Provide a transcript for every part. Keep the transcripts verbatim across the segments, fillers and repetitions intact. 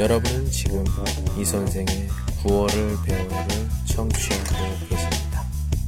여러분은 지금 이 선생의 구월을 배우를 청취하고 계십니다.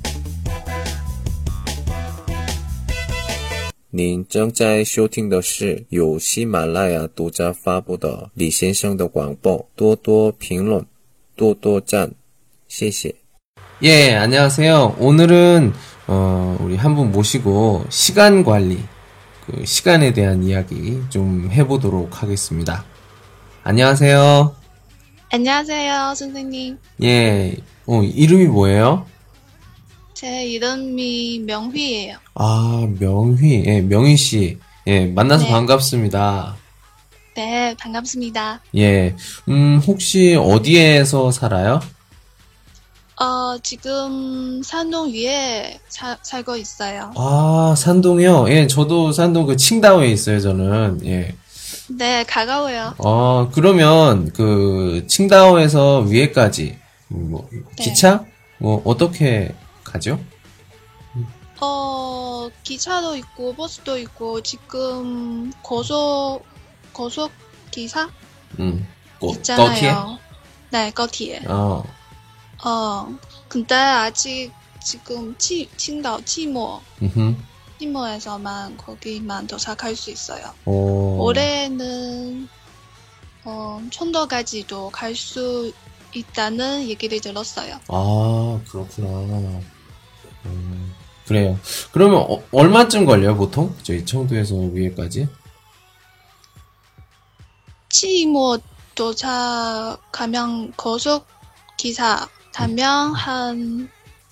您正在收听的是由喜马拉雅独家发布的李先生的广播，多多评论，多多赞，谢谢。 예, 안녕하세요. 오늘은 어, 우리 한 분 모시고 시간 관리, 그 시간에 대한 이야기 좀 해보도록 하겠습니다. 안녕하세요. 안녕하세요, 선생님. 예, 어, 이름이 뭐예요? 제 이름이 명휘예요. 아, 명휘, 예, 명휘 씨. 예, 만나서 네. 반갑습니다. 네, 반갑습니다. 예, 음, 혹시 어디에서 살아요? 어, 지금 산동 위에 사, 살고 있어요. 아, 산동이요? 예, 저도 산동 그 칭다오에 있어요, 저는. 예. 네, 가까워요. 어, 그러면 그 칭다오에서 위에까지 뭐 네. 기차? 뭐 어떻게 가죠? 어, 기차도 있고, 버스도 있고, 지금 고속, 고속 기사? 음. 고, 있잖아요. 거기에? 네, 거기에. 어. 어, 근데 아직 지금 치, 칭다오, 치모, 음. 치모에서만 거기만 도착할 수 있어요. 오. 올해는 어, 촌도까지도 갈 수 있다는 얘기를 들었어요. 아, 그렇구나. 음, 그래요. 그러면 어, 얼마쯤 걸려요, 보통? 저희 청도에서 위에까지? 치모 도착하면 고속 기사 타면 한,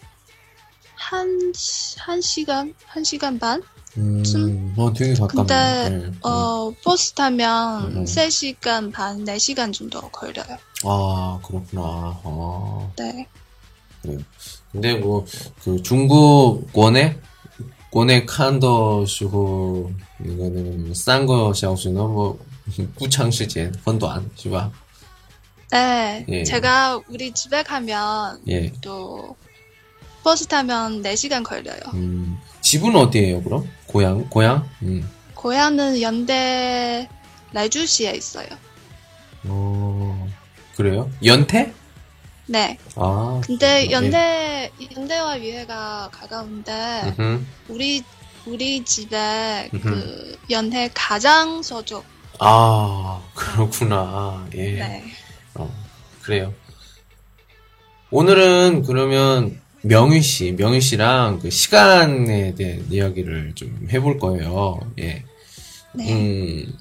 한, 시- 한 시간? 한 시간 반? 음, 어, 되게 가깝네. 근데, 네. 어, 버스 타면 음. 세 시간 반, 네 시간 정도 걸려요. 아, 그렇구나. 아. 네. 그래요. 근데 뭐, 그 중국 원에, 원에 칸더 시고, 이거는 싼 거 샤오수는 뭐, 구창 시간, 很短, 是吧? 네. 예. 제가 우리 집에 가면 예. 또 버스 타면 네 시간 걸려요. 음, 집은 어디예요, 그럼? 고향, 고향? 음. 고향은 연대 날주시에 있어요. 어, 그래요? 연태? 네. 아. 근데 그렇구나. 연대 연대와 위에가 가까운데 예. 음흠. 우리 우리 집에 음흠. 그 연대 가장 서쪽. 아, 그렇구나. 예. 네. 어, 그래요. 오늘은 그러면 명희 씨, 명희 씨랑 그 시간에 대한 이야기를 좀 해볼 거예요. 예. 네. 음,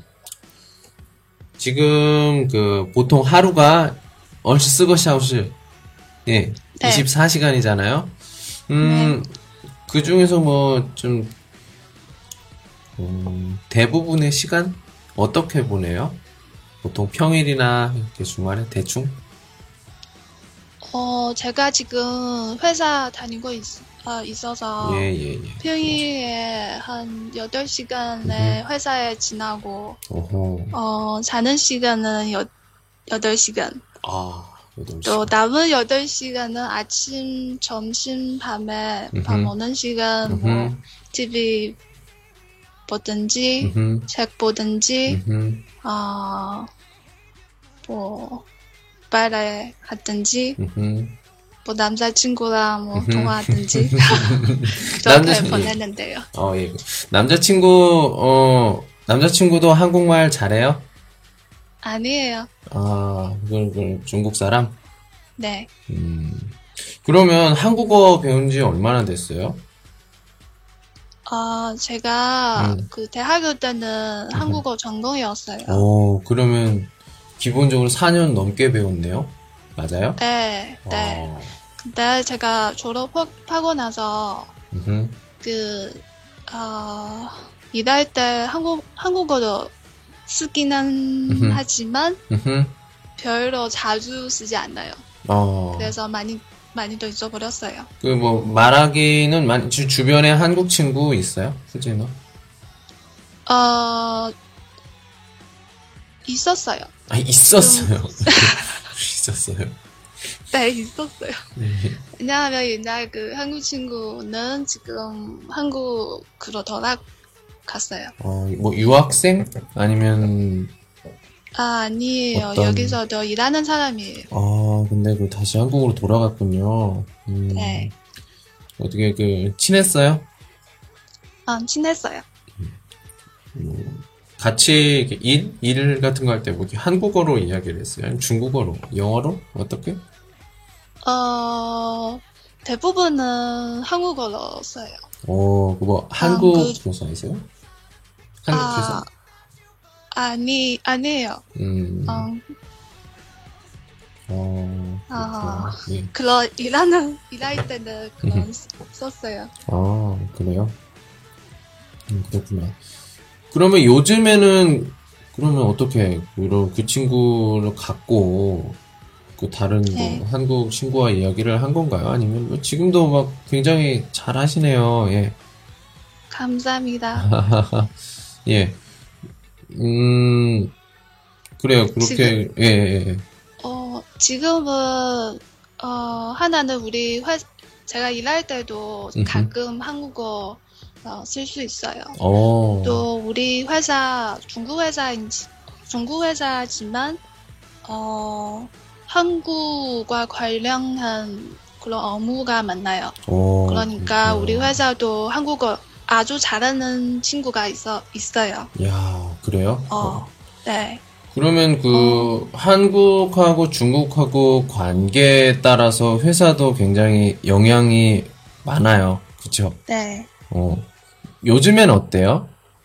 지금 그 보통 하루가 얼시 쓰고 샤오시, 예, 네. 이십사 시간이잖아요. 음, 그 중에서 뭐 좀, 음, 대부분의 시간 어떻게 보내요? 보통 평일이나 이렇게 주말에 대충? 어, 제가 지금 회사 다니고 있, 어, 있어서 예, 예, 예. 평일에 한 여덟 시간에 회사에 지나고 오호. 어, 자는 시간은 여, 여덟 시간. 아, 여덟 또 시간. 남은 여덟 시간은 아침, 점심, 밤에 밥 음흠. 먹는 시간, 뭐, 음흠. 티비 보든지, 음흠. 책 보든지, 음흠. 어, 뭐, 빨래 하든지, 음흠. 뭐, 남자친구랑 뭐, 음흠. 통화하든지, 남자- 그렇게 예. 보내는데요. 어, 예. 남자친구, 어, 남자친구도 한국말 잘해요? 아니에요. 아, 그, 그, 중국 사람? 네. 음. 그러면 한국어 배운 지 얼마나 됐어요? 어, 제가 음. 그 대학교 때는 한국어 전공이었어요. 오, 그러면 기본적으로 사 년 넘게 배웠네요? 맞아요? 네, 네. 어, 근데 제가 졸업하고 나서 음흠. 그, 어, 일할 때 한국, 한국어도 쓰기는 음흠. 하지만 음흠. 별로 자주 쓰지 않아요. 어. 그래서 많이, 많이 또 잊어버렸어요. 그 뭐 말하기는 많이 주, 주변에 한국 친구 있어요? 수진아? 어, 있었어요. 아 있었어요. 있었어요. 네, 있었어요. 네. 왜냐하면 옛날 그 한국 친구는 지금 한국으로 돌아갔어요. 어, 뭐 유학생 아니면 아, 아니에요. 어떤- 여기서도 일하는 사람이에요. 아, 근데 그 다시 한국으로 돌아갔군요. 음, 네. 어떻게 그 친했어요? 아, 친했어요. 같이 이렇게 일? 일 같은 거 할 때 뭐 한국어로 이야기를 했어요? 아니면 중국어로? 영어로? 어떻게? 어, 대부분은 한국어로 써요. 어, 그뭐 한국 그- 회사이세요? 한국 아, 회사? 아니, 아니에요. 음, 어, 어, 아. 그렇구나. 예. 그런 일하는, 일할 때는 그런 썼어요. 아, 그래요? 음, 그렇구나. 그러면 요즘에는, 그러면 어떻게, 그, 그 친구를 갖고, 그 다른 뭐 네. 한국 친구와 이야기를 한 건가요? 아니면 뭐 지금도 막 굉장히 잘 하시네요. 예. 감사합니다. 예. 음, 그래요. 그렇게, 지금- 예, 예, 예. 어, 지금은, 어, 하나는 우리 회, 제가 일할 때도 음흠. 가끔 한국어 어, 쓸 수 있어요. 어, 또 우리 회사 중국 회사인 중국 회사지만 어 한국과 관련한 그런 업무가 많나요. 어, 그러니까 그렇구나. 우리 회사도 한국어 아주 잘하는 친구가 있어 있어요. 야, 그래요? 어, 네, 그러면 그 한국하고 중국하고 관계에 따라서 회사도 굉장히 영향이 많아요. 그쵸? 네. 어. 요즘엔 어때요?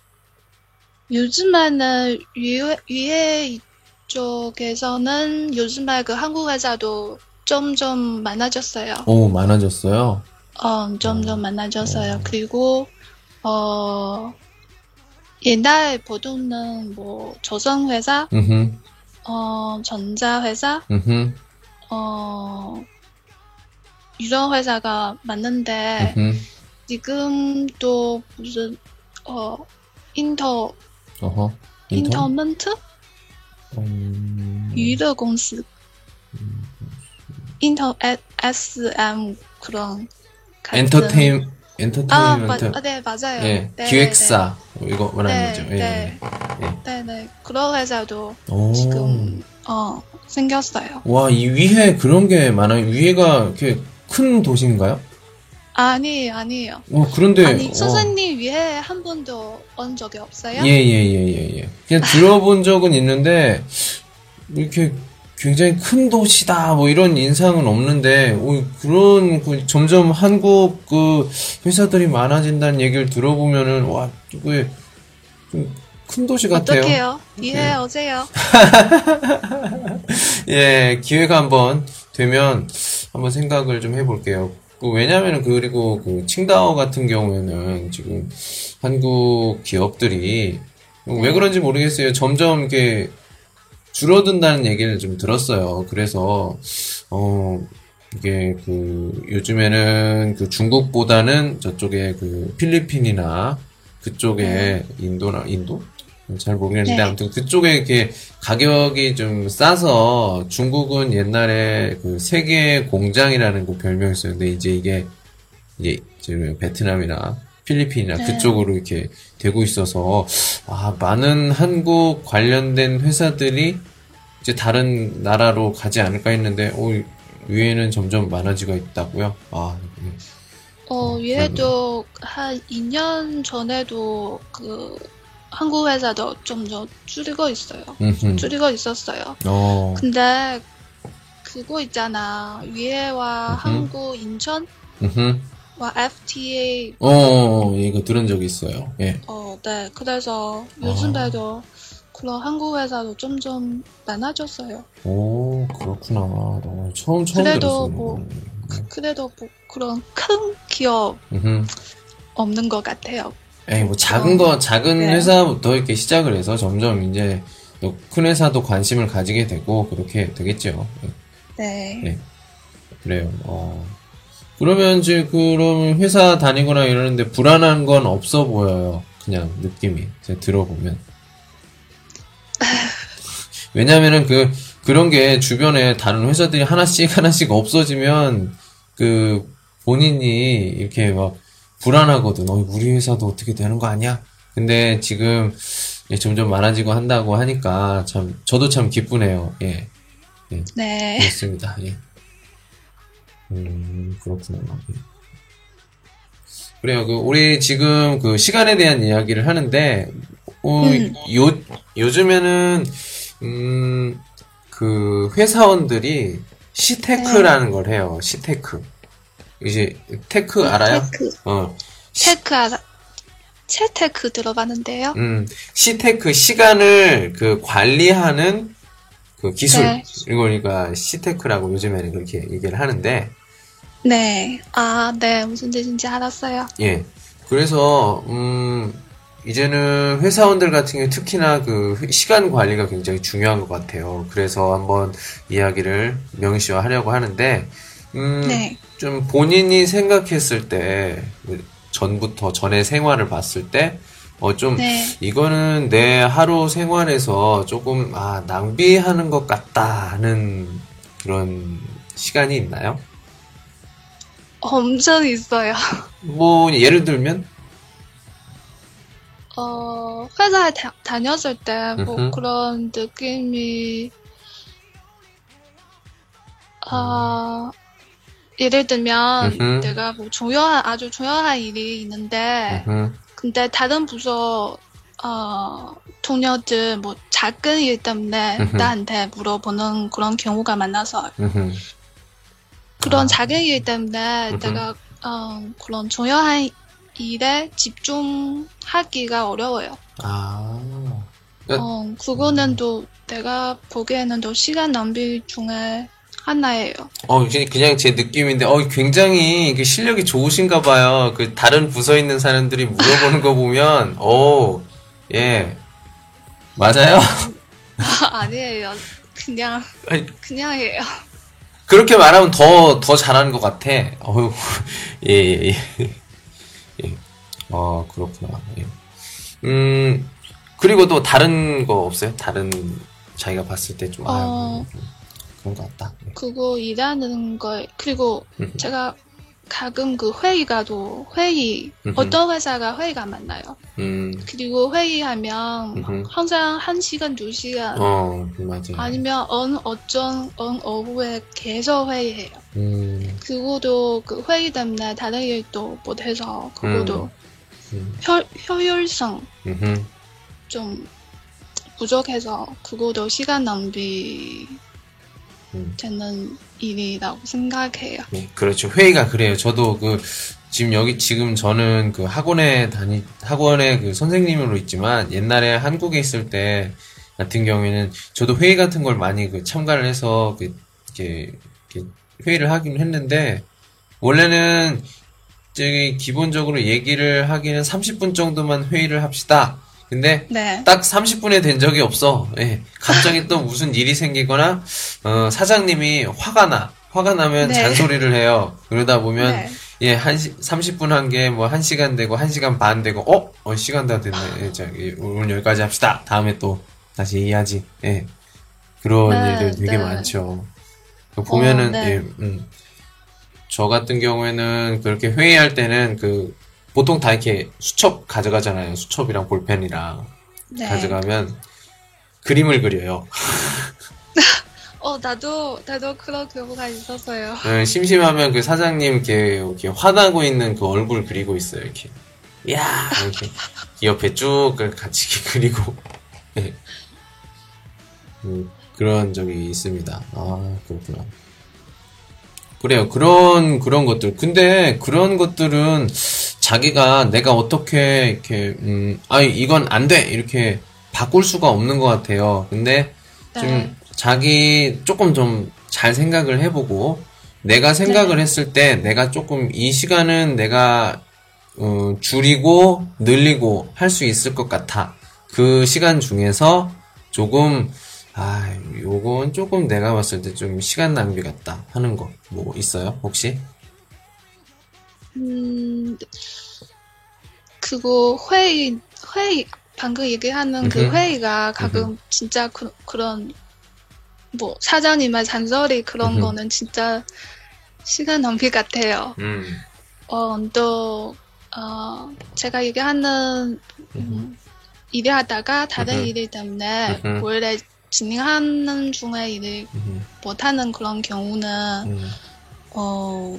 요즘에는 위에 위에 이쪽에서는 요즘에 그 한국 회사도 점점 많아졌어요. 오, 많아졌어요. 어, 점점 많아졌어요. 그리고, 어, 옛날 보통은 뭐, 조선회사, 음흠, 어, 전자회사, 음흠, 어, 이런 회사가 많은데, 음흠. 지금 또 무슨, 어, 인터, 어허. 인턴? 인터먼트? 음, 娱乐公司, 인터, 에스엠, 그런, 같은- 엔터테인, 아, 마, 엔터테인먼트. 아, 네, 맞아요. 예, 네, 기획사. 이거 말하는 네, 거죠. 예, 네. 예. 네, 네. 그런 회사도 오. 지금, 어, 생겼어요. 와, 이 위에 그런 게 많아요. 위에가 이렇게 큰 도시인가요? 아니, 아니에요. 어, 그런데, 아니, 어. 선생님 위에 한 번도 온 적이 없어요? 예, 예, 예, 예, 예. 그냥 들어본 적은 있는데, 이렇게 굉장히 큰 도시다, 뭐 이런 인상은 없는데, 오, 그런, 그 점점 한국 그 회사들이 많아진다는 얘기를 들어보면은, 와, 이게 좀 큰 도시 같아요. 어떡해요? 위에 네. 오세요. 예, 기회가 한번 되면 한번 생각을 좀 해볼게요. 그 왜냐면은 그리고 그 칭다오 같은 경우에는 지금 한국 기업들이 왜 그런지 모르겠어요. 점점 이렇게 줄어든다는 얘기를 좀 들었어요. 그래서 어 이게 그 요즘에는 그 중국보다는 저쪽에 그 필리핀이나 그쪽에 인도나 인도? 잘 모르겠는데 네. 아무튼 그쪽에 이렇게 가격이 좀 싸서 중국은 옛날에 그 세계 공장이라는 그 별명이 있었는데 이제 이게 이제 지금 베트남이나 필리핀이나 네. 그쪽으로 이렇게 되고 있어서 아 많은 한국 관련된 회사들이 이제 다른 나라로 가지 않을까 했는데 오 위에는 점점 많아지고 있다고요. 아 네. 어, 위에도 한 이 년 전에도 그 한국 회사도 좀 더 줄이고 있어요. 음흠. 줄이고 있었어요. 어, 근데 그거 있잖아. 위에와 음흠. 한국 인천와 음흠. 에프티에이 어, 어, 어, 이거 들은 적 있어요. 예. 어, 네. 그래서 요즘에도 그런 한국 회사도 점점 많아졌어요. 오, 그렇구나. 어, 처음, 처음 그래도 들었어요. 뭐, 그- 그래도 뭐 그런 큰 기업 음흠. 없는 것 같아요. 에이, 뭐, 작은 거, 작은 네. 회사부터 이렇게 시작을 해서 점점 이제, 또 큰 회사도 관심을 가지게 되고, 그렇게 되겠죠. 예, 네. 네. 그래요. 어. 그러면 이제, 그럼 회사 다니거나 이러는데 불안한 건 없어 보여요. 그냥 느낌이. 제가 들어보면. 왜냐면은 그, 그런 게 주변에 다른 회사들이 하나씩 하나씩 없어지면, 그, 본인이 이렇게 막 불안하거든. 어, 우리 회사도 어떻게 되는 거 아니야? 근데 지금, 예, 점점 많아지고 한다고 하니까 참 저도 참 기쁘네요. 예, 예, 네. 그렇습니다. 예. 음, 그렇구나. 예. 그래요. 그 우리 지금 그 시간에 대한 이야기를 하는데 어, 음. 요 요즘에는 음, 그 회사원들이 시테크라는 걸 해요. 시테크. 이제 테크 알아요? 테크. 어, 테크 알아. 채테크 들어봤는데요. 음, 시테크 시간을 그 관리하는 그 기술. 네. 이거니까 시테크라고 요즘에는 그렇게 얘기를 하는데 네. 아, 네. 무슨 뜻인지 알았어요. 예. 그래서 음, 이제는 회사원들 같은 경우 특히나 그 시간 관리가 굉장히 중요한 것 같아요. 그래서 한번 이야기를 명시화하려고 하는데 음, 네. 좀 본인이 생각했을 때 전부터 전의 생활을 봤을 때 어, 좀 네. 이거는 내 하루 생활에서 조금 아, 낭비하는 것 같다 하는 그런 시간이 있나요? 엄청 있어요. 뭐 예를 들면 어, 회사에 다, 다녔을 때, 뭐, 음흠. 그런 느낌이, 아, 예를 들면, 음흠. 내가 뭐, 중요한, 아주 중요한 일이 있는데, 음흠. 근데 다른 부서, 어, 동료들, 뭐, 작은 일 때문에 음흠. 나한테 물어보는 그런 경우가 많아서, 음흠. 그런 아. 작은 일 때문에 음흠. 내가, 어, 그런 중요한 일에 집중하기가 어려워요. 아. 그러니까 어, 그거는 또 내가 보기에는 또 시간 낭비 중에 하나예요. 어, 그냥 그냥 제 느낌인데, 어, 굉장히 이게 실력이 좋으신가 봐요. 그 다른 부서에 있는 사람들이 물어보는 거 보면, 오, 예, 맞아요? 아니에요. 그냥, 아니, 그냥이에요. 그렇게 말하면 더, 더 잘하는 것 같아. 어휴, 예, 예, 예. 예. 어, 그렇구나. 예. 음, 그리고 또 다른 거 없어요? 다른, 자기가 봤을 때 좀, 아, 어, 음, 그런 것 같다. 예. 그거 일하는 거, 그리고 음, 제가 가끔 그 회의가 또, 회의, 음흠. 어떤 회사가 회의가 많나요? 음, 그리고 회의하면 음흠. 항상 한 시간, 두 시간, 어, 맞아요. 아니면 언 어쩐, 언 오후에 계속 회의해요. 음, 그거도 그 회의 때문에 다른 일도 못해서 그거도 음, 효, 효율성 음흠. 좀 부족해서 그거도 시간 낭비 음. 되는 일이라고 생각해요. 네, 그렇죠. 회의가 그래요. 저도 그, 지금 여기, 지금 저는 그 학원에 다니, 학원에 그 선생님으로 있지만, 옛날에 한국에 있을 때 같은 경우에는 저도 회의 같은 걸 많이 그 참가를 해서, 그, 이렇게, 이렇게 회의를 하긴 했는데, 원래는, 저기, 기본적으로 얘기를 하기는 삼십 분 정도만 회의를 합시다. 근데, 네. 딱 삼십 분에 된 적이 없어. 예. 갑자기 또 무슨 일이 생기거나, 어, 사장님이 화가 나. 화가 나면 네. 잔소리를 해요. 그러다 보면, 네. 예, 한 시, 삼십 분 한 게 뭐 한 시간 되고, 한 시간 반 되고, 어? 어, 시간 다 됐네. 예, 자, 예, 오늘 여기까지 합시다. 다음에 또 다시 얘기하지. 예. 그런 네, 일들 되게 네. 많죠. 보면은, 어, 네. 예, 음. 저 같은 경우에는 그렇게 회의할 때는 그, 보통 다 이렇게 수첩 가져가잖아요. 수첩이랑 볼펜이랑 네. 가져가면 그림을 그려요. 어, 나도, 나도 그런 경우가 있었어요. 예, 심심하면 그 사장님 이렇게, 이렇게 화나고 있는 그 얼굴 그리고 있어요. 이렇게. 야 이렇게 옆에 쭉 같이 이렇게 그리고 예. 음, 그런 적이 있습니다. 아 그렇구나. 그래요. 그런 그런 것들. 근데 그런 것들은 자기가 내가 어떻게 이렇게 음, 아 이건 안 돼. 이렇게 바꿀 수가 없는 것 같아요. 근데 좀 네. 자기 조금 좀 잘 생각을 해보고 내가 생각을 네. 했을 때 내가 조금 이 시간은 내가 어, 줄이고 늘리고 할 수 있을 것 같아. 그 시간 중에서 조금 아, 요건 조금 내가 봤을 때 좀 시간 낭비 같다 하는 거 뭐 있어요? 혹시? 음, 그거 회의, 회의, 방금 얘기하는 그 음흠. 회의가 가끔 진짜 그, 그런, 뭐, 사장님의 잔소리 그런 음흠. 거는 진짜 시간 낭비 같아요. 음. 어, 또, 어, 제가 얘기하는, 음, 일을 하다가 다른 음흠. 일 때문에 음흠. 원래 진행하는 중에 일을 음, 못하는 그런 경우는 음, 어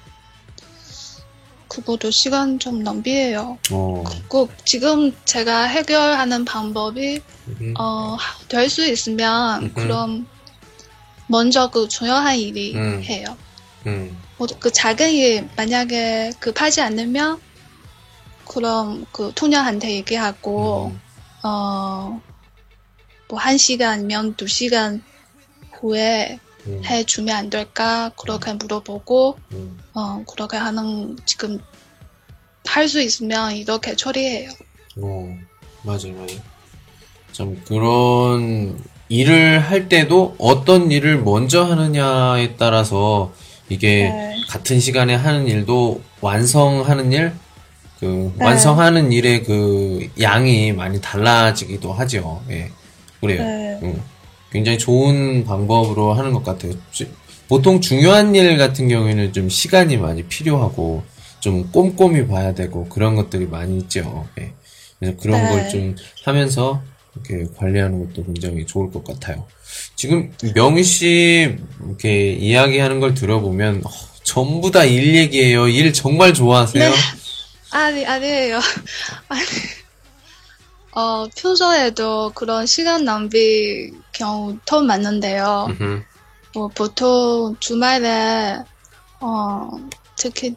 그것도 시간 좀 낭비해요. 어, 꼭 지금 제가 해결하는 방법이 음, 어, 될 수 있으면 음흠. 그럼 먼저 그 중요한 일이 음. 해요. 음, 뭐, 그 작은 일 만약에 급하지 않으면 그럼 그 토녀한테 얘기하고 음, 어, 뭐 한 시간 아니면 두 시간 후에 음, 해주면 안 될까 그렇게 물어보고 음. 어, 그렇게 하는 지금 할 수 있으면 이렇게 처리해요. 어, 맞아요, 맞아요. 참, 그런 일을 할 때도 어떤 일을 먼저 하느냐에 따라서 이게 네. 같은 시간에 하는 일도 완성하는 일, 그, 네. 완성하는 일의 그 양이 많이 달라지기도 하죠. 예. 그래요. 네. 음. 굉장히 좋은 방법으로 하는 것 같아요. 지- 보통 중요한 일 같은 경우에는 좀 시간이 많이 필요하고 좀 꼼꼼히 봐야 되고 그런 것들이 많이 있죠. 예. 그래서 그런 네. 걸 좀 하면서 이렇게 관리하는 것도 굉장히 좋을 것 같아요. 지금 명희 씨 이렇게 이야기하는 걸 들어보면 어, 전부 다 일 얘기예요. 일 정말 좋아하세요? 네. 아니, 아니에요. 아니, 어, 평소에도 그런 시간 낭비 경우 더 많은데요. 음흠, 뭐, 보통 주말에, 어, 특히,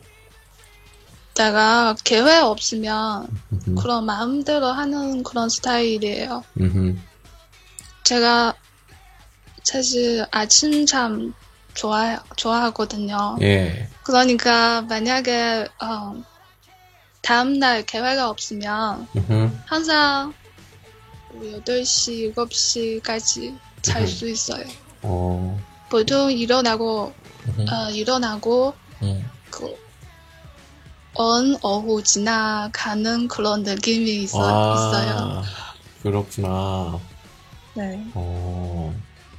내가 계획 없으면 음흠, 그런 마음대로 하는 그런 스타일이에요. 음흠. 제가 사실 아침 잠 좋아, 좋아하거든요. 예. 그러니까 만약에, 어, 다음날 계획이 없으면 음흠, 항상 뭐 여덟 시, 일곱 시까지 잘 음흠. 수 있어요. 어, 보통 일어나고, 음흠, 어, 일어나고, 음. 그, 언, 오후 지나가는 그런 느낌이 있어, 있어요. 아, 그렇구나. 네. 어,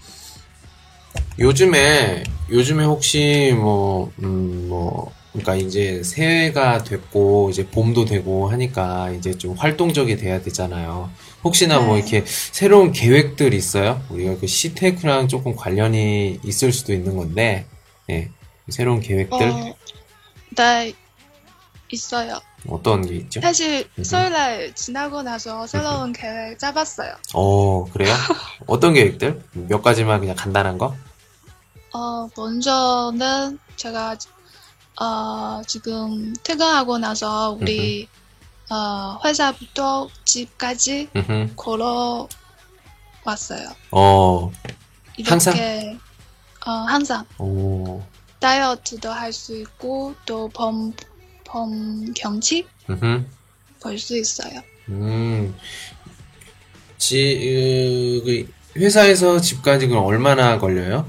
요즘에, 요즘에 혹시 뭐, 음, 뭐, 그러니까 이제 새해가 됐고, 이제 봄도 되고 하니까 이제 좀 활동적이 돼야 되잖아요. 혹시나 뭐 네. 이렇게 새로운 계획들 있어요? 우리가 그 시테크랑 조금 관련이 있을 수도 있는 건데, 예, 새로운 계획들? 어, 네, 있어요. 어떤 게 있죠? 사실 음흠. 설날 지나고 나서 새로운 계획 짜봤어요. 어, 그래요? 어떤 계획들? 몇 가지만 그냥 간단한 거? 어, 먼저는 제가, 어, 지금 퇴근하고 나서 우리, 어, 회사부터 집까지 음흠. 걸어 왔어요. 어, 항상? 이렇게, 어, 항상 오, 다이어트도 할 수 있고, 또 범, 범 경치 음흠. 볼 수 있어요. 음, 지, 으, 그 회사에서 집까지 그럼 얼마나 걸려요?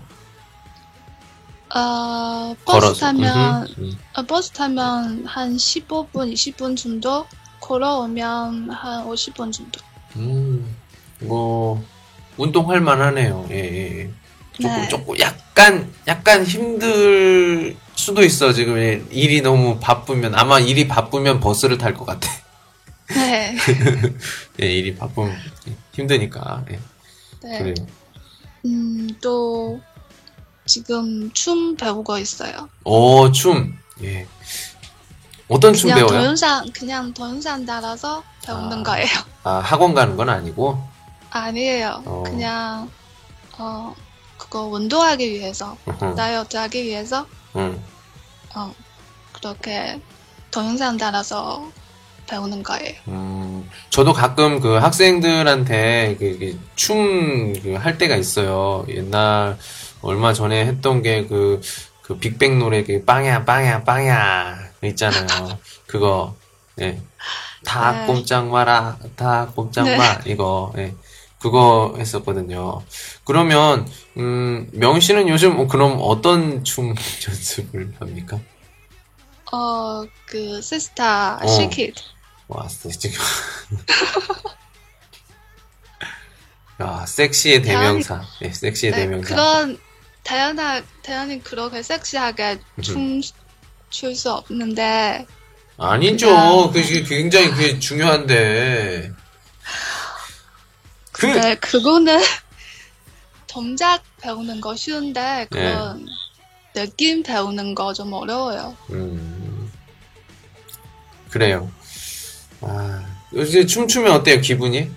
어, 버스 걸어서. 음흠. 타면, 음, 어, 버스 타면 한 십오 분, 이십 분 정도? 걸어오면 한 오십 분 정도. 음, 뭐, 운동할 만하네요. 예, 예, 예. 조금, 네. 조금, 약간, 약간 힘들 수도 있어. 지금 예, 일이 너무 바쁘면, 아마 일이 바쁘면 버스를 탈 것 같아. 네. 예, 일이 바쁘면 힘드니까. 예, 네. 그래요. 음, 또, 지금 춤 배우고 있어요. 오, 춤. 예. 어떤 춤 그냥 배워요? 동영상, 그냥 동영상 따라서 배우는 아, 거예요. 아, 학원 가는 건 아니고? 아니에요. 어. 그냥, 어, 그거 운동하기 위해서, 으흠, 다이어트 하기 위해서, 응. 어, 그렇게 동영상 따라서 배우는 거예요. 음, 저도 가끔 그 학생들한테 그, 그 춤, 그 할 때가 있어요. 옛날, 얼마 전에 했던 게 그, 그 빅뱅 노래 그 빵야, 빵야, 빵야 있잖아요. 그거, 예. 다 네. 꼼짝 마라, 다 꼼짝 네. 마, 이거, 예. 그거 했었거든요. 그러면, 음, 명 씨는 요즘 뭐 그럼 어떤 춤 연습을 합니까? 어, 그, 시스타, 어. 시키드. 왔어, 지금. 야, 섹시의 다현이- 대명사. 예, 섹시의 네, 대명사. 그런, 다현아, 다현이 그렇게 섹시하게 춤 출 수 없는데, 아니죠. 그냥- 그게 굉장히 그게 중요한데. 근데 그거는 동작 배우는 거 쉬운데 그런 느낌 배우는 거 좀 어려워요. 음, 그래요. 아, 요새 춤추면 어때요, 기분이?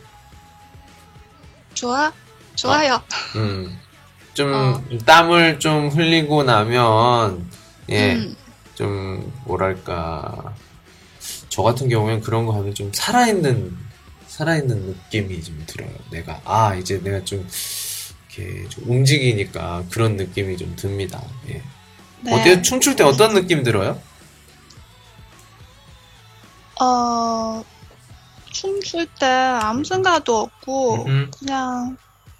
좋아? 좋아요. 음, 좀, 어. 땀을 좀 흘리고 나면, 예, 음. 좀, 뭐랄까, 저 같은 경우엔 그런 거 하면 좀 살아있는, 살아있는 느낌이 좀 들어요. 내가, 아, 이제 내가 좀, 이렇게 좀 움직이니까 그런 느낌이 좀 듭니다. 예. 네. 어때요? 춤출 때 어떤 느낌 들어요? 어, 춤출 때 아무 생각도 없고, 음흠. 그냥,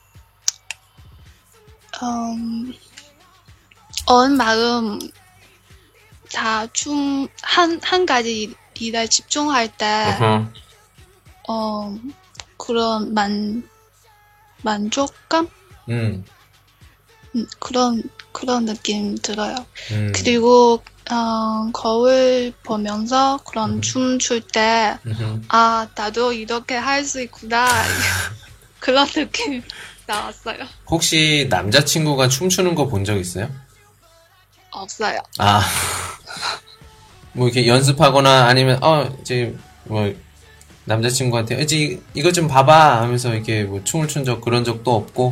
음, 온 마음 다 춤, 한, 한 가지 일에 집중할 때, 어허. 어, 그런 만, 만족감? 음, 음, 그런, 그런 느낌 들어요. 음, 그리고, 어, 거울 보면서 그런 음. 춤출 때, 음흠. 아, 나도 이렇게 할 수 있구나. 그런 느낌 나왔어요. 혹시 남자친구가 춤추는 거 본 적 있어요? 없어요. 아, 뭐 이렇게 연습하거나 아니면, 어, 이제, 뭐, 남자친구한테, 이제 이거 좀 봐봐 하면서 이렇게 뭐 춤을 춘 적 그런 적도 없고,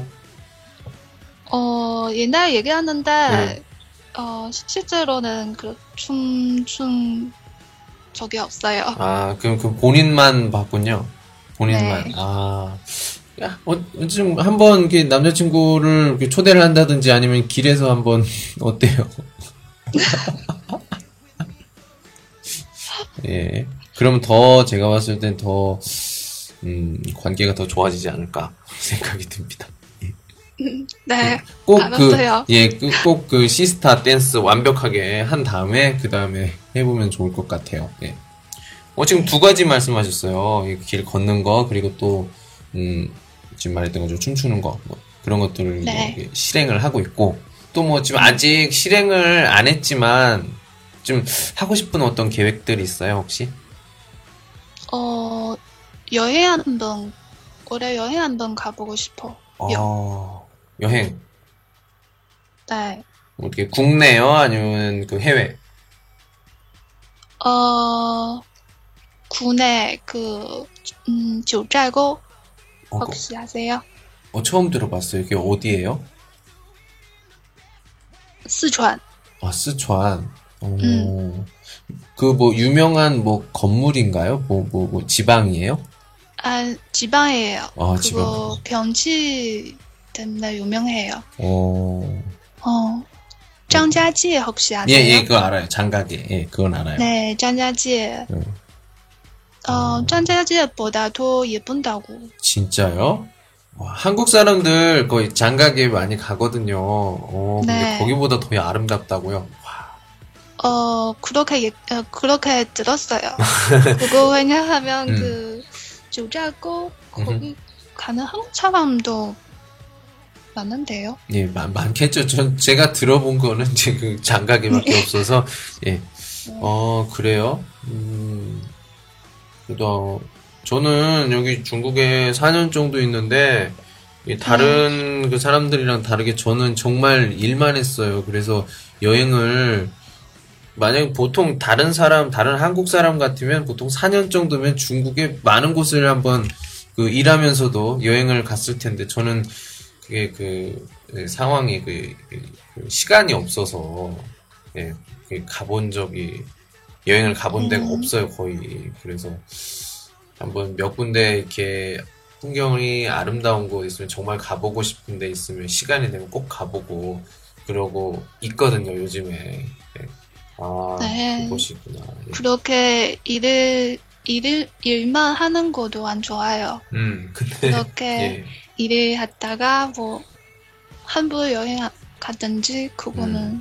어, 옛날 얘기하는데, 네. 어, 실제로는 그 춤춘 적이 없어요. 아, 그럼 그 본인만 봤군요. 본인만. 네. 아, 야, 어, 좀 한번 이렇게 남자친구를 이렇게 초대를 한다든지 아니면 길에서 한번 어때요? 예. 그러면 더 제가 봤을 땐 더, 음, 관계가 더 좋아지지 않을까 생각이 듭니다. 네. 꼭 그, 알았어요. 예, 그, 꼭 그 시스타 댄스 완벽하게 한 다음에, 그 다음에 해보면 좋을 것 같아요. 예. 어, 지금 두 가지 말씀하셨어요. 이길 걷는 거, 그리고 또, 음, 지금 말했던 것처럼 춤추는 거, 뭐, 그런 것들을 뭐 네. 이렇게 실행을 하고 있고, 또 뭐 지금 아직 실행을 안 했지만, 좀 하고 싶은 어떤 계획들이 있어요, 혹시? 어, 여행 한번, 올해 여행 한번 가보고 싶어요. 어, 여행. 네. 뭐 이렇게 국내요? 아니면 그 해외? 어, 국내 그, 음,九寨沟 어, 그- 혹시 아세요? 어, 처음 들어봤어요. 이게 어디예요? 스촨. 아, 스촨. 어, 음. 그 뭐 유명한 뭐 건물인가요? 뭐, 뭐, 뭐 지방이에요? 아, 지방이에요. 아, 그거 지방. 경치 때문에 유명해요. 어, 어, 장자지 혹시 예, 아세요? 예, 그거 알아요. 장가게. 예, 그건 알아요. 네, 장자지. 음. 어, 장자지보다 더 예쁜다고. 진짜요? 와, 한국 사람들 거의 장가게 많이 가거든요. 어, 근데 네. 거기보다 더 아름답다고요? 와, 어, 그렇게, 예, 어, 그렇게 들었어요. 그거 왜냐하면 음. 그, 九寨沟 거기 가는 한국 사람도 많은데요. 예, 많, 많겠죠. 전 제가 들어본 거는 이제 그 장가게밖에 없어서, 예. 어, 그래요? 음, 그래도, 저는 여기 중국에 사 년 정도 있는데, 이 다른 그 사람들이랑 다르게 저는 정말 일만 했어요. 그래서 여행을, 만약 보통 다른 사람, 다른 한국 사람 같으면 보통 사 년 정도면 중국의 많은 곳을 한번 그 일하면서도 여행을 갔을 텐데, 저는 그게 그, 그 상황이 그, 그 시간이 없어서, 예, 그 가본 적이, 여행을 가본 데가 음. 없어요, 거의. 그래서 한번 몇 군데 이렇게 풍경이 아름다운 곳 있으면 정말 가보고 싶은 데 있으면 시간이 되면 꼭 가보고 그러고 있거든요, 요즘에. 예. 아, 네. 그곳이구나. 예. 그렇게 일을, 일을, 일만 하는 것도 안 좋아요. 음, 근데, 그렇게 예. 일을 하다가 뭐, 한부 여행 가든지, 그거는 음.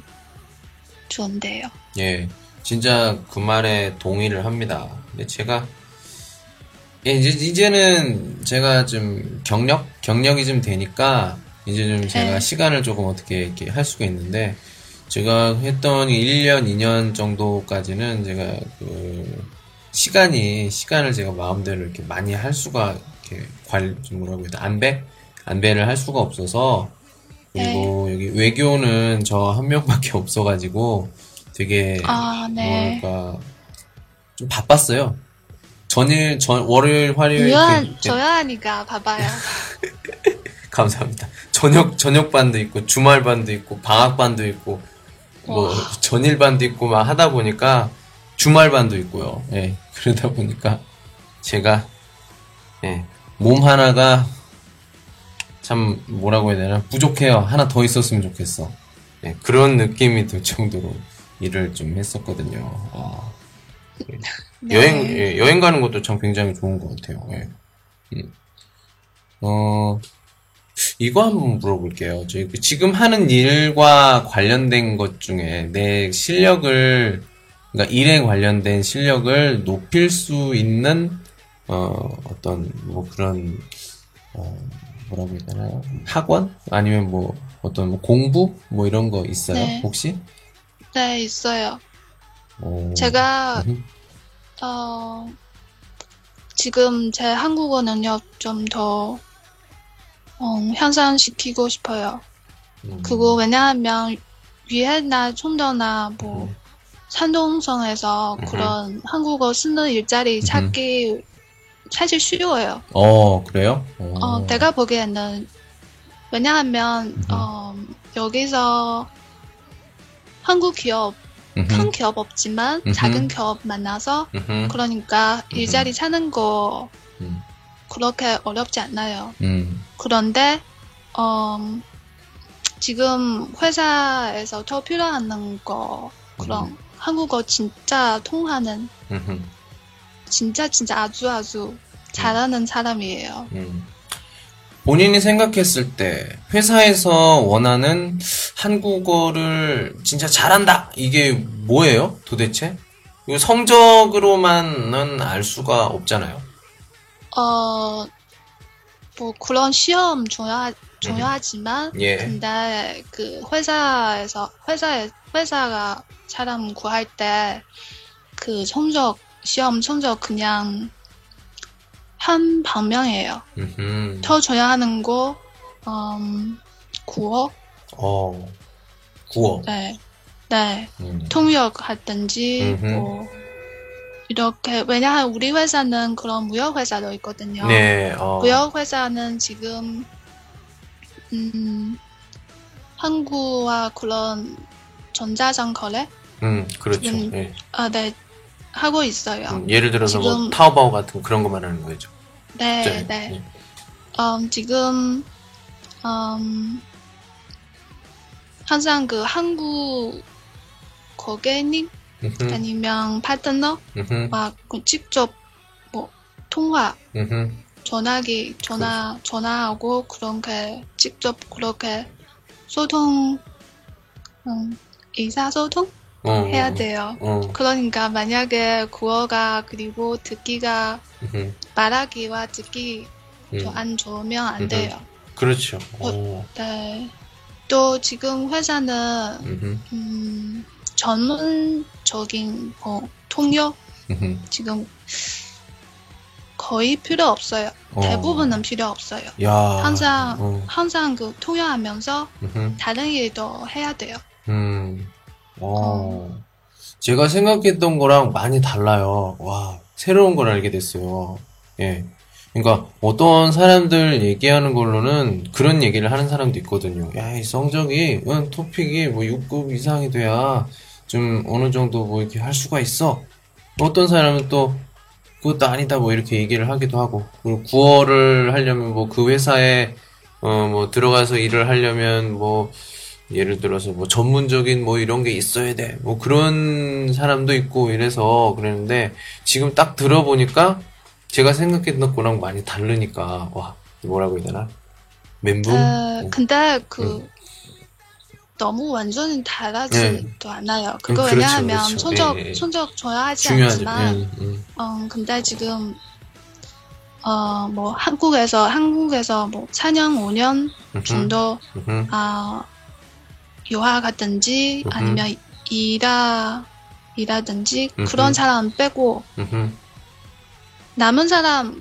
좋은데요. 예, 진짜 그 말에 동의를 합니다. 근데 제가, 예, 이제, 이제는 제가 좀 경력, 경력이 좀 되니까, 이제 좀 제가 네. 시간을 조금 어떻게 이렇게 할 수가 있는데, 제가 했던 일 년, 이 년 정도까지는 제가 그, 시간이, 시간을 제가 마음대로 이렇게 많이 할 수가 이렇게 관, 좀 뭐라고 해야 돼? 안배? 안배를 할 수가 없어서, 그리고 여기 외교는 저 한 명밖에 없어가지고 되게, 아, 네. 뭐랄까, 좀 바빴어요. 전일, 전, 월요일, 화요일. 유연, 그- 줘야 하니까 봐봐요. 감사합니다. 저녁, 저녁반도 있고, 주말반도 있고, 방학반도 있고, 뭐, 와. 전일반도 있고, 막 하다 보니까, 주말반도 있고요. 예. 그러다 보니까, 제가, 예. 몸 하나가, 참, 뭐라고 해야 되나, 부족해요. 하나 더 있었으면 좋겠어. 예. 그런 느낌이 들 정도로 일을 좀 했었거든요. 아. 네. 여행, 예, 여행 가는 것도 참 굉장히 좋은 것 같아요. 예. 음. 어, 이거 한번 물어볼게요. 저희 그 지금 하는 일과 관련된 것 중에 내 실력을, 그러니까 일에 관련된 실력을 높일 수 있는, 어, 어떤, 뭐 그런, 어, 뭐라고 해야 되나요? 학원? 아니면 뭐, 어떤 뭐 공부? 뭐 이런 거 있어요? 네. 혹시? 네, 있어요. 어, 제가, 음, 어, 지금 제 한국어 능력 좀 더, 어, 향상시키고 싶어요. 음, 그거 왜냐하면 위에나 촌도나 뭐 음. 산동성에서 음흠. 그런 한국어 쓰는 일자리 음흠. 찾기 사실 쉬워요. 어, 그래요? 어, 어, 내가 보기에는 왜냐하면 음흠. 어, 여기서 한국 기업 음흠. 큰 기업 없지만 음흠. 작은 기업 만나서 음흠. 그러니까 일자리 찾는 거 음, 그렇게 어렵지 않아요. 음, 그런데 어, 지금 회사에서 더 필요한 거 그런 한국어 진짜 통하는 음흠. 진짜 진짜 아주 아주 잘하는 사람이에요. 음. 본인이 생각했을 때 회사에서 원하는 한국어를 진짜 잘한다. 이게 뭐예요? 도대체? 이거 성적으로만은 알 수가 없잖아요. 어, 뭐 그런 시험 중요하, 중요하지만 예. 근데 그 회사에서 회사에 회사가 사람 구할 때 그 성적 시험 성적 그냥 한 방면이에요. 음흠. 더 중요하는 거 음, 국어 어, 구어. 네, 네 음. 통역 하든지 음흠. 뭐 이렇게 왜냐하면 우리 회사는 그런 무역 회사도 있거든요. 네, 어. 무역 회사는 지금 음, 항구와 그런 전자상 거래 음, 그렇죠. 지금 예. 아, 네 하고 있어요. 음, 예를 들어서 뭐 지금- 타오바오 같은 그런 거 말하는 거죠. 네, 네. 네. 음, 지금 음, 항상 그 한국 고객님 음흠. 아니면 파트너 음흠. 막그 직접 뭐 통화 음흠. 전화기 전화 전화하고 그렇게 직접 그렇게 소통 음, 의사소통 어, 해야 돼요. 어. 그러니까 만약에 구어가 그리고 듣기가 음흠. 말하기와 듣기 음. 좀 안 좋으면 안 음흠. 돼요. 그렇죠. 어. 오. 네. 또 지금 회사는 음흠. 음, 전문적인 뭐 통역 음흠. 지금 거의 필요 없어요. 어. 대부분은 필요 없어요. 야. 항상 어. 항상 그 통역하면서 음흠. 다른 일도 해야 돼요. 음. 어. 제가 생각했던 거랑 많이 달라요. 와, 새로운 걸 알게 됐어요. 예. 그러니까 어떤 사람들 얘기하는 걸로는 그런 얘기를 하는 사람도 있거든요. 야, 이 성적이, 응, 토픽이 뭐 육 급 이상이 돼야 좀 어느 정도 뭐 이렇게 할 수가 있어. 어떤 사람은 또 그것도 아니다 뭐 이렇게 얘기를 하기도 하고. 그리고 구어를 하려면 뭐 그 회사에 어 뭐 들어가서 일을 하려면 뭐 예를 들어서 뭐 전문적인 뭐 이런 게 있어야 돼. 뭐 그런 사람도 있고 이래서 그랬는데 지금 딱 들어보니까 제가 생각했던 거랑 많이 다르니까 와, 뭐라고 해야 되나? 멘붕? 어, 어. 근데 그 너무 완전히 다르지도 않아요. 그거 음, 그렇죠, 왜냐하면 그렇죠. 성적 예, 예. 성적 중요하지 중요하죠. 않지만 예, 예. 음, 근데 지금, 어, 뭐, 한국에서, 한국에서 뭐, 사 년, 오 년 음흠. 정도, 음흠. 아, 유학 갔든지, 음흠. 아니면 일하, 일하든지, 음흠. 그런 사람 빼고, 음흠. 남은 사람,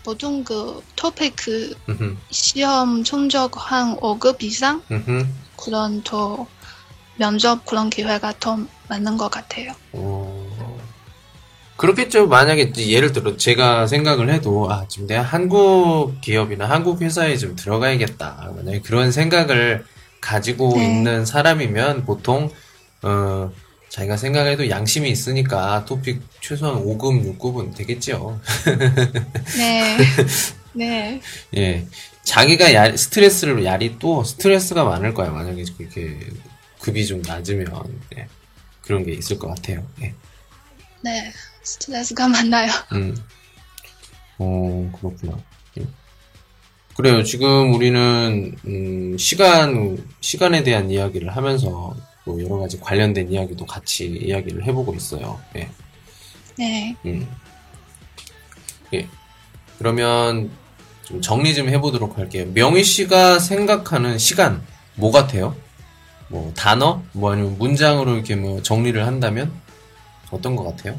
보통 그 토픽 음흠. 시험 성적 한 오 급 이상 음흠. 그런 더 면접 그런 기회가 더 많은 것 같아요. 어, 그렇겠죠. 만약에 이제 예를 들어 제가 생각을 해도 아 지금 내가 한국 기업이나 한국 회사에 좀 들어가야겠다. 만약에 그런 생각을 가지고 네. 있는 사람이면 보통 어 자기가 생각해도 양심이 있으니까 토픽 최소한 오 급, 육 급은 되겠죠. 네, 네, 예. 자기가 야, 스트레스를 야리 또 스트레스가 많을 거야. 만약에 그렇게 급이 좀 낮으면 예. 그런 게 있을 것 같아요. 예. 네. 스트레스가 많아요. 음. 어, 그렇구나. 예. 그래요. 지금 우리는 음, 시간 시간에 대한 이야기를 하면서 또 여러 가지 관련된 이야기도 같이 이야기를 해보고 있어요. 예. 네. 음. 예. 그러면 좀 정리 좀 해보도록 할게요. 명희 씨가 생각하는 시간 뭐 같아요? 뭐 단어? 뭐 아니면 문장으로 이렇게 뭐 정리를 한다면 어떤 것 같아요?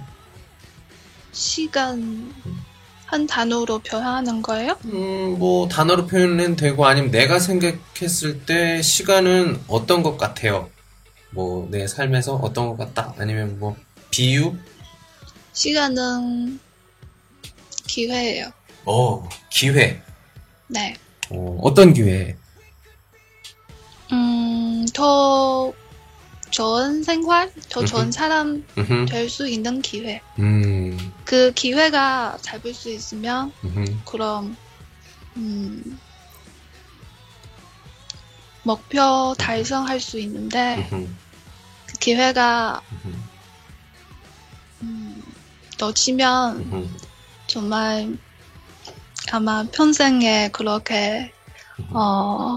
시간 한 단어로 표현하는 거예요? 음, 뭐 단어로 표현은 되고 아니면 내가 생각했을 때 시간은 어떤 것 같아요? 뭐 내 삶에서 어떤 것 같다? 아니면 뭐 비유? 시간은 기회예요. 어, 기회. 네. 어, 어떤 기회? 음, 더 좋은 생활, 더 좋은 음흠. 사람 음흠. 될 수 있는 기회. 음, 그 기회가 잡을 수 있으면 음흠. 그럼 음, 목표 달성할 수 있는데 음흠. 그 기회가 음흠. 음, 놓치면 음흠. 정말 아마 평생에 그렇게 어,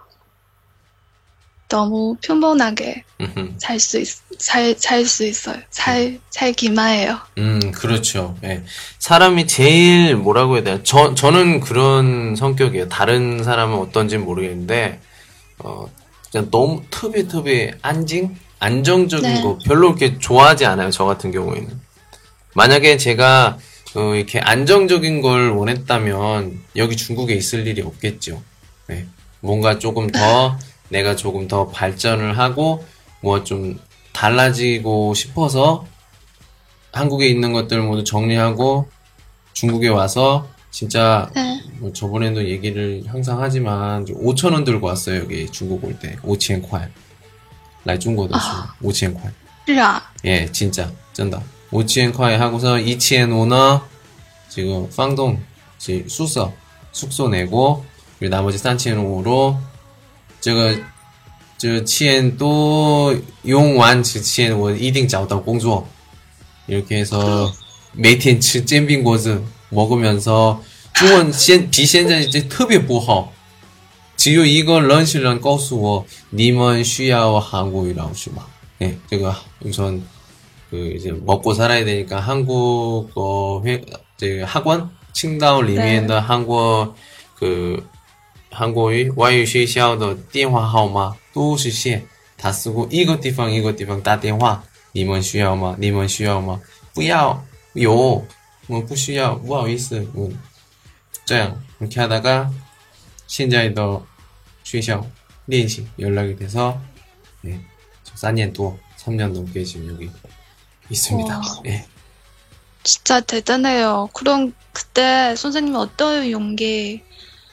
너무 평범하게 음흠. 살 수 있, 살, 살 수 있어요. 살, 살기만 해요. 음, 그렇죠. 예. 사람이 제일 뭐라고 해야 되나? 저, 저는 그런 성격이에요. 다른 사람은 어떤지는 모르겠는데, 어, 그냥 너무 특别特别 안징? 안정적인 네. 거 별로 이렇게 좋아하지 않아요. 저 같은 경우에는. 만약에 제가, 어, 이렇게 안정적인 걸 원했다면, 여기 중국에 있을 일이 없겠죠. 네. 뭔가 조금 더, 내가 조금 더 발전을 하고, 뭐 좀 달라지고 싶어서, 한국에 있는 것들 모두 정리하고 중국에 와서 진짜 네. 뭐 저번에도 얘기를 항상 하지만 오천 원 들고 왔어요. 여기 중국 올 때 오천块来中国的时候五千块是啊. 예, 진짜 쩐다. 오천块 하고서 이천 원呢 지금 방동 지금 숙소 숙소 내고 그리고 나머지 삼천五로 这个这钱都用完之前我一定找到工作 이렇게 해서 매일吃煎饼果子 먹으면서 중文现比现在这特别不好只有一个人是人告诉我你们需要韩国语老师吗 예, 제가 우선 그 이제 먹고 살아야 되니까 한국어 회, 제 학원 칭다오里面的 한국 그 한국의 外语学校的电话号码都是线다 쓰고一个地方一个地方打电话你们需要吗你们需要吗不要有我不需要不好意思我这样이렇게 하다가现在的学校练习 연락이 돼서 네, 사 년多 삼 년 넘게 지금 여기 있습니다. 와. 예. 진짜 대단해요. 그럼 그때 선생님은 어떤 용기,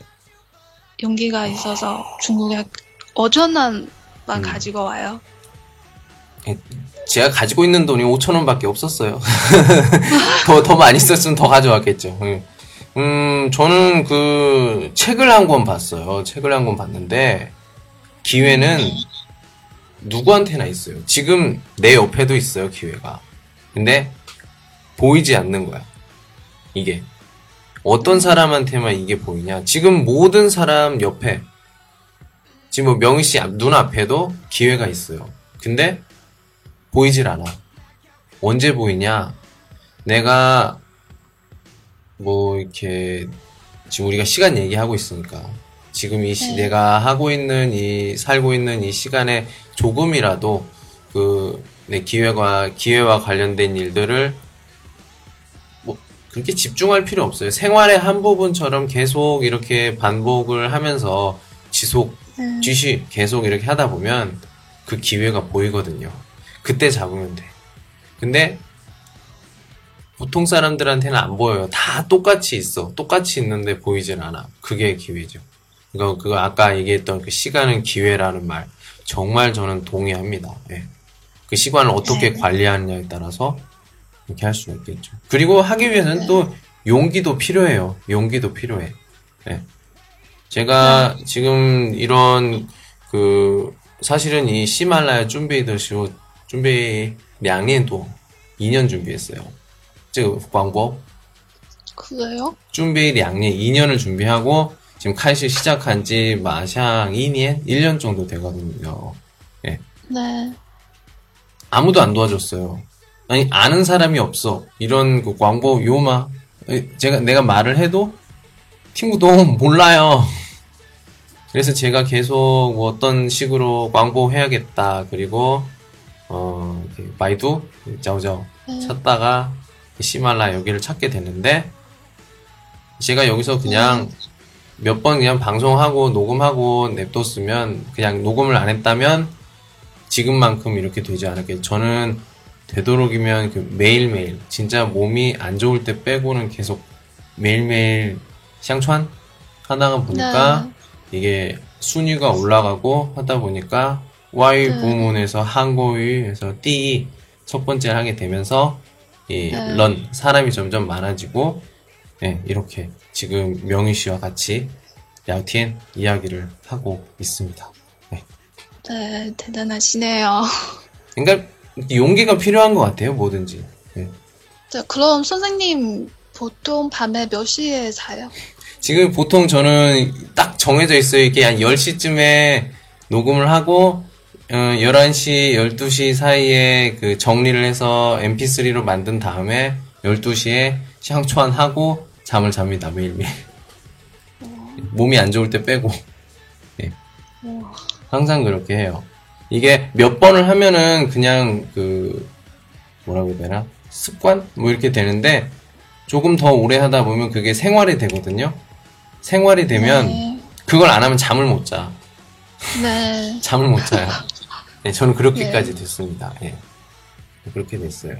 용기가 있어서 중국에 어전한만 음. 가지고 와요? 제가 가지고 있는 돈이 오천 원밖에 없었어요. 더, 더 많이 썼으면 더 가져왔겠죠. 음, 저는 그 책을 한 권 봤어요. 책을 한 권 봤는데 기회는 누구한테나 있어요. 지금 내 옆에도 있어요, 기회가. 근데 보이지 않는 거야. 이게. 어떤 사람한테만 이게 보이냐. 지금 모든 사람 옆에 지금 뭐 명희 씨 눈앞에도 기회가 있어요. 근데 보이질 않아. 언제 보이냐? 내가 뭐 이렇게 지금 우리가 시간 얘기하고 있으니까 지금 이 시, 네. 내가 하고 있는 이 살고 있는 이 시간에 조금이라도 그 내 기회와 기회와 관련된 일들을 뭐 그 그렇게 집중할 필요 없어요. 생활의 한 부분처럼 계속 이렇게 반복을 하면서 지속, 음. 지시 계속 이렇게 하다 보면 그 기회가 보이거든요. 그때 잡으면 돼. 근데 보통 사람들한테는 안 보여요. 다 똑같이 있어. 똑같이 있는데 보이질 않아. 그게 기회죠. 그거, 그거 아까 얘기했던 그 시간은 기회라는 말. 정말 저는 동의합니다. 예. 그 시간을 어떻게 네. 관리하느냐에 따라서 이렇게 할 수가 있겠죠. 그리고 하기 위해서는 네. 또 용기도 필요해요. 용기도 필요해. 예. 제가 지금 이런 그 사실은 이 시말라야 준비더시오 준비 량년도 이 년 준비했어요. 这个广播 그래요? 준비 량년 이 년을 준비하고 지금开始 시작한 지 마샹 이 년 일 년 정도 되거든요. 예. 네. 아무도 안 도와줬어요. 아니 아는 사람이 없어. 이런 그 광고 요마 제가 내가 말을 해도 친구도 몰라요. 그래서 제가 계속 뭐 어떤 식으로 광고해야겠다. 그리고 어 이렇게 바이두 짜오짜오 네. 찾다가 시말라 여기를 찾게 됐는데 제가 여기서 그냥 몇 번 그냥 방송하고 녹음하고 냅뒀으면 그냥 녹음을 안 했다면 지금만큼 이렇게 되지 않았겠죠. 저는 되도록이면 그 매일매일 진짜 몸이 안 좋을 때 빼고는 계속 매일매일 샹촨 하다가 보니까 네. 이게 순위가 올라가고 하다 보니까 와이 네. 부문에서 한국어에서 띠 첫 번째를 하게 되면서 이 네. 런 사람이 점점 많아지고 예, 이렇게 지금 명희 씨와 같이 야티엔 이야기를 하고 있습니다. 네. 네, 대단하시네요. 그러니까 용기가 필요한 것 같아요, 뭐든지. 네. 네, 그럼 선생님 보통 밤에 몇 시에 자요? 지금 보통 저는 딱 정해져 있어요. 이게 한 열 시쯤에 녹음을 하고 어, 열한 시, 열두 시 사이에 그 정리를 해서 엠피쓰리로 만든 다음에 열두 시에 샹촨 하고 잠을 잡니다, 매일매일. 몸이 안 좋을 때 빼고. 네. 오. 항상 그렇게 해요. 이게 몇 번을 하면은 그냥 그 뭐라고 해야 되나? 습관? 뭐 이렇게 되는데 조금 더 오래 하다 보면 그게 생활이 되거든요. 생활이 되면 네. 그걸 안 하면 잠을 못 자. 네. 잠을 못 자요. 네, 저는 그렇게까지 네. 됐습니다. 예. 그렇게 됐어요.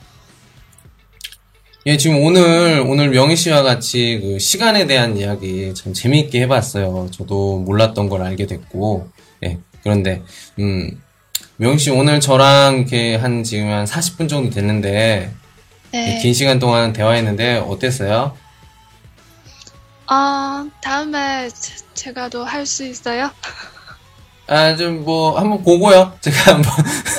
예, 지금 오늘, 오늘 명희 씨와 같이 그 시간에 대한 이야기 참 재미있게 해봤어요. 저도 몰랐던 걸 알게 됐고, 예. 그런데, 음, 명희 씨 오늘 저랑 이렇게 한 지금 한 사십 분 정도 됐는데, 네. 긴 시간 동안 대화했는데 어땠어요? 아, 다음에 제, 제가 더 할 수 있어요? 아, 좀 뭐, 한번 보고요. 제가 한번.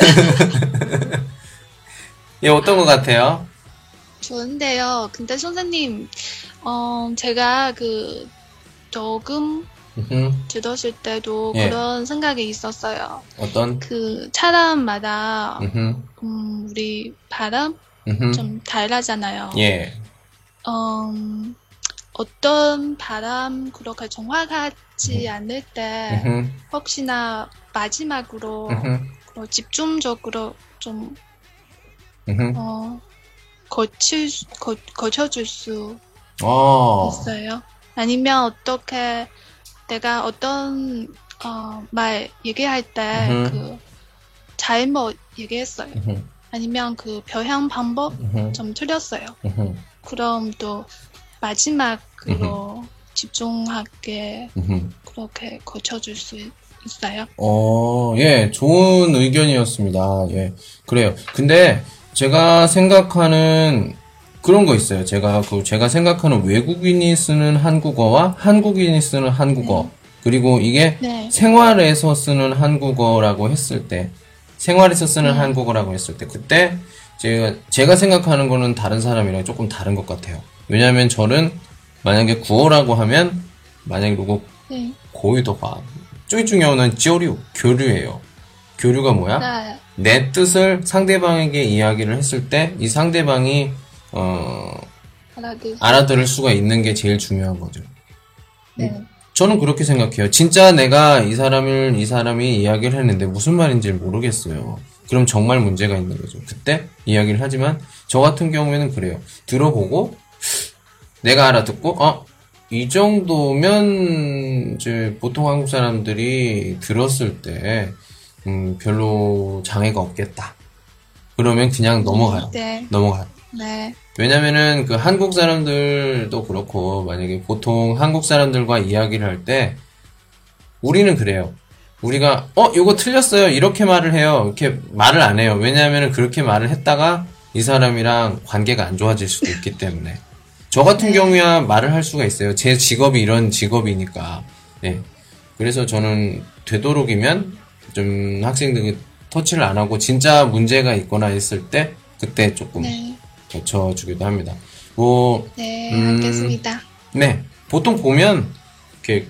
예, 어떤 것 같아요? 좋은데요. 근데 선생님, 어, 제가 그 녹음 음흠. 들었을 때도 예. 그런 생각이 있었어요. 어떤? 그 사람마다 음흠. 음, 우리 바람 음흠. 좀 다르잖아요. 예. 음, 어떤 바람 그렇게 정확하지 않을 때 음흠. 혹시나 마지막으로 음흠. 그런 집중적으로 좀 음흠. 어, 거칠 수- 거, 거쳐줄 수 어. 있어요? 아니면 어떻게 내가 어떤 어, 말 얘기할 때 음흠. 그 잘못 얘기했어요. 음흠. 아니면 그 표현 방법 음흠. 좀 틀렸어요. 음흠. 그럼 또 마지막으로 집중하게 음흠. 그렇게 고쳐줄 수 있어요? 어, 예, 좋은 의견이었습니다. 예, 그래요. 근데 제가 생각하는 그런 거 있어요. 제가 그 제가 생각하는 외국인이 쓰는 한국어와 한국인이 쓰는 한국어 그리고 이게 네. 생활에서 쓰는 한국어라고 했을 때 생활에서 쓰는 음. 한국어라고 했을 때 그때 제가 제가 생각하는 거는 다른 사람이랑 조금 다른 것 같아요. 왜냐하면 저는 만약에 구어라고 하면 만약에 누구 네. 고유도화最중요한 건 교류, 교류예요. 교류가 뭐야? 네. 내 뜻을 상대방에게 이야기를 했을 때 이 상대방이 어, 알아들. 알아들을 수가 있는 게 제일 중요한 거죠. 네. 저는 그렇게 생각해요. 진짜 내가 이 사람을 이 사람이 이야기를 했는데 무슨 말인지 모르겠어요. 그럼 정말 문제가 있는 거죠. 그때 이야기를 하지만 저 같은 경우에는 그래요. 들어보고 내가 알아듣고, 어, 이 정도면, 이제, 보통 한국 사람들이 들었을 때, 음, 별로 장애가 없겠다. 그러면 그냥 넘어가요. 네. 넘어가요. 네. 왜냐면은 그 한국 사람들도 그렇고, 만약에 보통 한국 사람들과 이야기를 할 때, 우리는 그래요. 우리가, 어, 이거 틀렸어요. 이렇게 말을 해요. 이렇게 말을 안 해요. 왜냐면은 그렇게 말을 했다가 이 사람이랑 관계가 안 좋아질 수도 있기 때문에. 저 같은 네. 경우야 말을 할 수가 있어요. 제 직업이 이런 직업이니까. 예. 그래서 저는 되도록이면 좀 학생들이 터치를 안 하고 진짜 문제가 있거나 있을 때 그때 조금 네. 고쳐주기도 합니다. 뭐, 네, 음, 알겠습니다. 네. 보통 보면, 이렇게,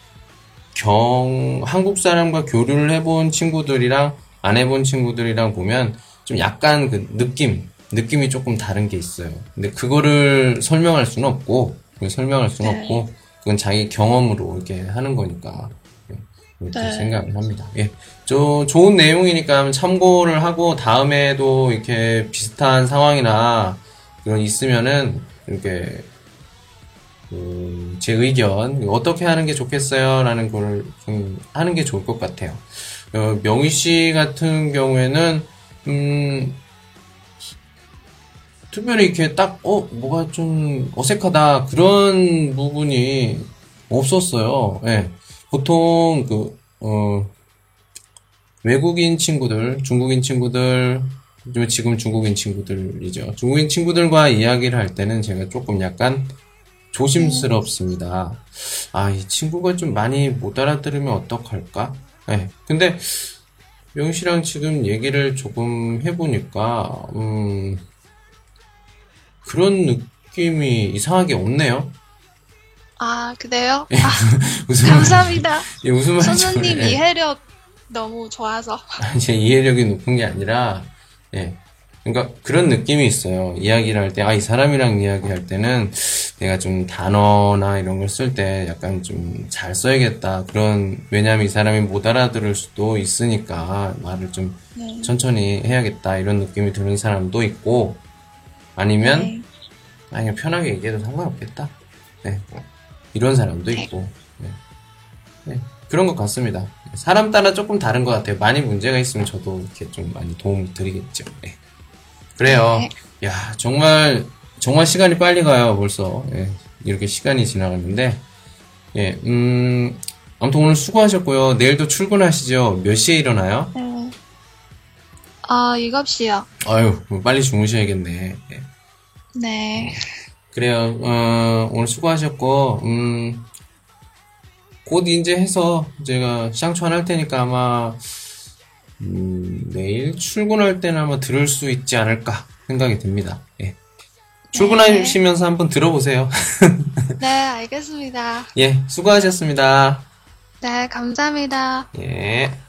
경, 한국 사람과 교류를 해본 친구들이랑 안 해본 친구들이랑 보면 좀 약간 그 느낌, 느낌이 조금 다른 게 있어요. 근데 그거를 설명할 수는 없고, 그걸 설명할 수는 네. 없고, 그건 자기 경험으로 이렇게 하는 거니까. 예, 이렇게 네. 생각을 합니다. 예. 저, 좋은 내용이니까 참고를 하고, 다음에도 이렇게 비슷한 상황이나 그런 있으면은, 이렇게, 음, 제 의견, 어떻게 하는 게 좋겠어요? 라는 걸 좀 하는 게 좋을 것 같아요. 어, 명희 씨 같은 경우에는, 음, 특별히 이렇게 딱, 어, 뭐가 좀 어색하다. 그런 부분이 없었어요. 예. 보통, 그, 어, 외국인 친구들, 중국인 친구들, 지금 중국인 친구들이죠. 중국인 친구들과 이야기를 할 때는 제가 조금 약간 조심스럽습니다. 아, 이 친구가 좀 많이 못 알아들으면 어떡할까? 네. 근데, 명희 씨랑 지금 얘기를 조금 해보니까, 음, 그런 느낌이 이상하게 없네요. 아, 그래요? 예. 아, 무슨, 감사합니다. 예, 무슨 말인지 선생님 모르- 예. 이해력 너무 좋아서. 제 이해력이 높은 게 아니라, 예. 그러니까 그런 느낌이 있어요. 이야기를 할 때, 아, 이 사람이랑 이야기할 때는 내가 좀 단어나 이런 걸 쓸 때 약간 좀 잘 써야겠다. 그런, 왜냐면 이 사람이 못 알아들을 수도 있으니까 말을 좀 네. 천천히 해야겠다. 이런 느낌이 드는 사람도 있고, 아니면, 네. 아, 그냥 편하게 얘기해도 상관없겠다. 네. 이런 사람도 네. 있고, 네. 네. 그런 것 같습니다. 사람 따라 조금 다른 것 같아요. 많이 문제가 있으면 저도 이렇게 좀 많이 도움을 드리겠죠. 네. 그래요. 네. 야, 정말, 정말 시간이 빨리 가요, 벌써. 예, 이렇게 시간이 지나갔는데. 예, 음, 아무튼 오늘 수고하셨고요. 내일도 출근하시죠? 몇 시에 일어나요? 네. 아, 일곱 시요. 아유, 뭐 빨리 주무셔야겠네. 예. 네. 그래요. 어, 오늘 수고하셨고, 음, 곧 이제 해서 제가 샹추안 할 테니까 아마, 음, 내일 출근할 때는 아마 들을 수 있지 않을까 생각이 듭니다. 예. 출근하시면서 한번 들어보세요. 네, 알겠습니다. 예, 수고하셨습니다. 네, 감사합니다. 예.